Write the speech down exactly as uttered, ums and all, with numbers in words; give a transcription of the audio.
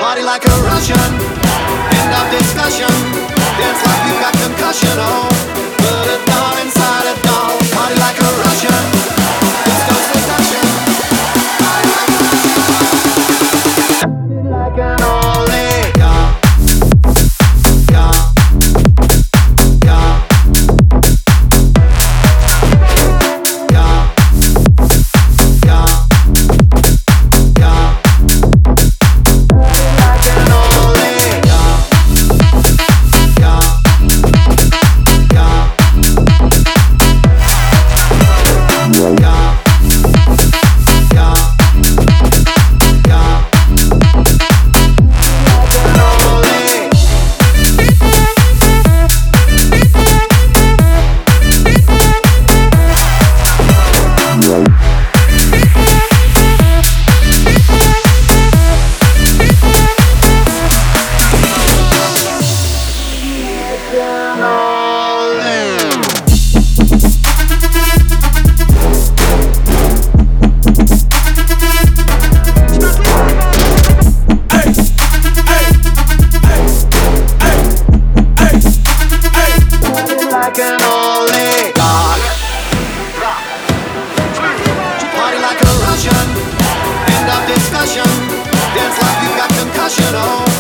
Party like a Russian, end of discussion. Dance like you got concussion, oh. Put it down inside it, doll. Party like a Russian, disco seduction. Party like a Russian, like an old lady, yeah. Yeah. Yeah. Yeah. Yeah. Yeah. Like an old lady, yeah. Yeah. Yeah. Yeah. Yeah. Yeah. Like an old lady. Like an old lady, dog. Party like a Russian, end of discussion. Dance like you got concussion, oh.